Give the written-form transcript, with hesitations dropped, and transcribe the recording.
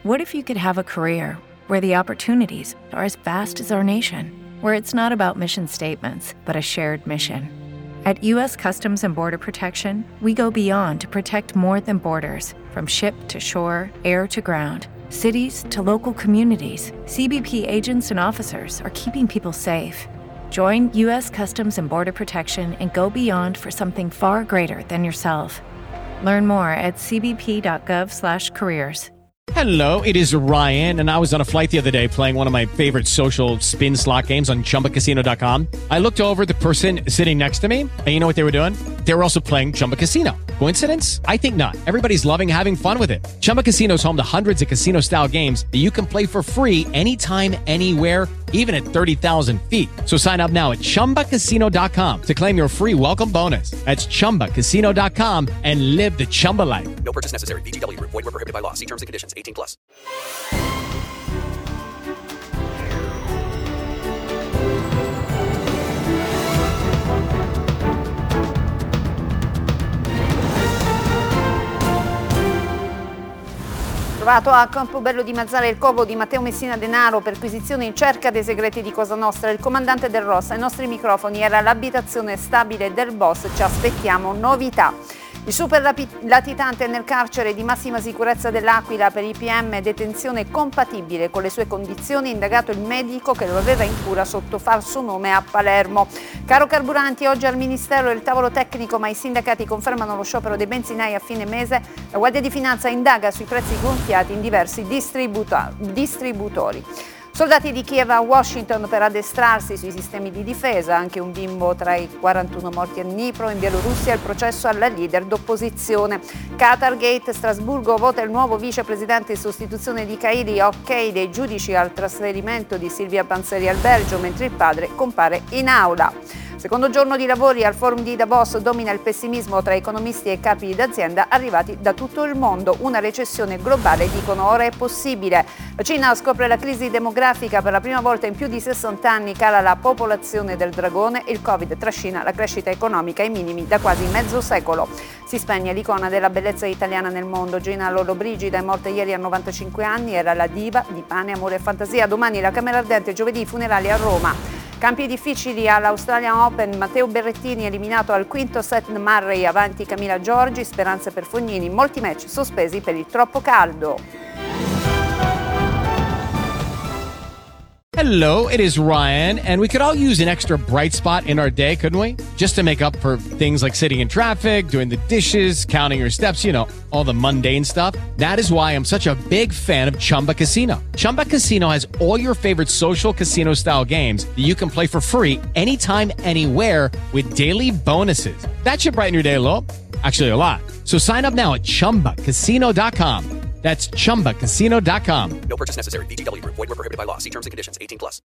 What if you could have a career where the opportunities are as vast as our nation, where it's not about mission statements, but a shared mission? At U.S. Customs and Border Protection, we go beyond to protect more than borders. From ship to shore, air to ground, cities to local communities, CBP agents and officers are keeping people safe. Join U.S. Customs and Border Protection and go beyond for something far greater than yourself. Learn more at cbp.gov/careers. Hello, it is Ryan, and I was on a flight the other day playing one of my favorite social spin slot games on ChumbaCasino.com. I looked over at the person sitting next to me, and you know what they were doing? They were also playing Chumba Casino. Coincidence? I think not. Everybody's loving having fun with it. Chumba Casino is home to hundreds of casino-style games that you can play for free anytime, anywhere, even at 30,000 feet. So sign up now at ChumbaCasino.com to claim your free welcome bonus. That's ChumbaCasino.com and live the Chumba life. No purchase necessary. VGW. Void where prohibited by law. See terms and conditions. 18+. Trovato a Campobello di Mazara il covo di Matteo Messina Denaro, perquisizione in cerca dei segreti di Cosa Nostra. Il comandante del Ross ai nostri microfoni era l'abitazione stabile del boss, ci aspettiamo novità. Il super latitante nel carcere di massima sicurezza dell'Aquila per i PM, detenzione compatibile con le sue condizioni, indagato il medico che lo aveva in cura sotto falso nome a Palermo. Caro carburanti, oggi al Ministero il tavolo tecnico, ma i sindacati confermano lo sciopero dei benzinai a fine mese. La Guardia di Finanza indaga sui prezzi gonfiati in diversi distributori. Soldati di Kiev a Washington per addestrarsi sui sistemi di difesa, anche un bimbo tra i 41 morti a Dnipro. In Bielorussia il processo alla leader d'opposizione. Qatargate, Strasburgo vota il nuovo vicepresidente in sostituzione di Cairi, ok dei giudici al trasferimento di Silvia Panzeri al Belgio, mentre il padre compare in aula. Secondo giorno di lavori al forum di Davos, domina il pessimismo tra economisti e capi d'azienda arrivati da tutto il mondo. Una recessione globale, dicono, ora è possibile. La Cina scopre la crisi demografica, per la prima volta in più di 60 anni cala la popolazione del dragone e il Covid trascina la crescita economica ai minimi da quasi mezzo secolo. Si spegne l'icona della bellezza italiana nel mondo. Gina Lollobrigida è morta ieri a 95 anni, era la diva di Pane, Amore e Fantasia. Domani la Camera Ardente, giovedì i funerali a Roma. Campi difficili all'Australian Open, Matteo Berrettini eliminato al quinto set, Murray avanti Camila Giorgi, speranze per Fognini, molti match sospesi per il troppo caldo. Hello, it is Ryan, and we could all use an extra bright spot in our day, couldn't we? Just to make up for things like sitting in traffic, doing the dishes, counting your steps, you know, all the mundane stuff. That is why I'm such a big fan of Chumba Casino. Chumba Casino has all your favorite social casino-style games that you can play for free anytime, anywhere with daily bonuses. That should brighten your day a little. Actually, a lot. So sign up now at ChumbaCasino.com. That's ChumbaCasino.com. No purchase necessary. VGW. Void where prohibited by law. See terms and conditions. 18+.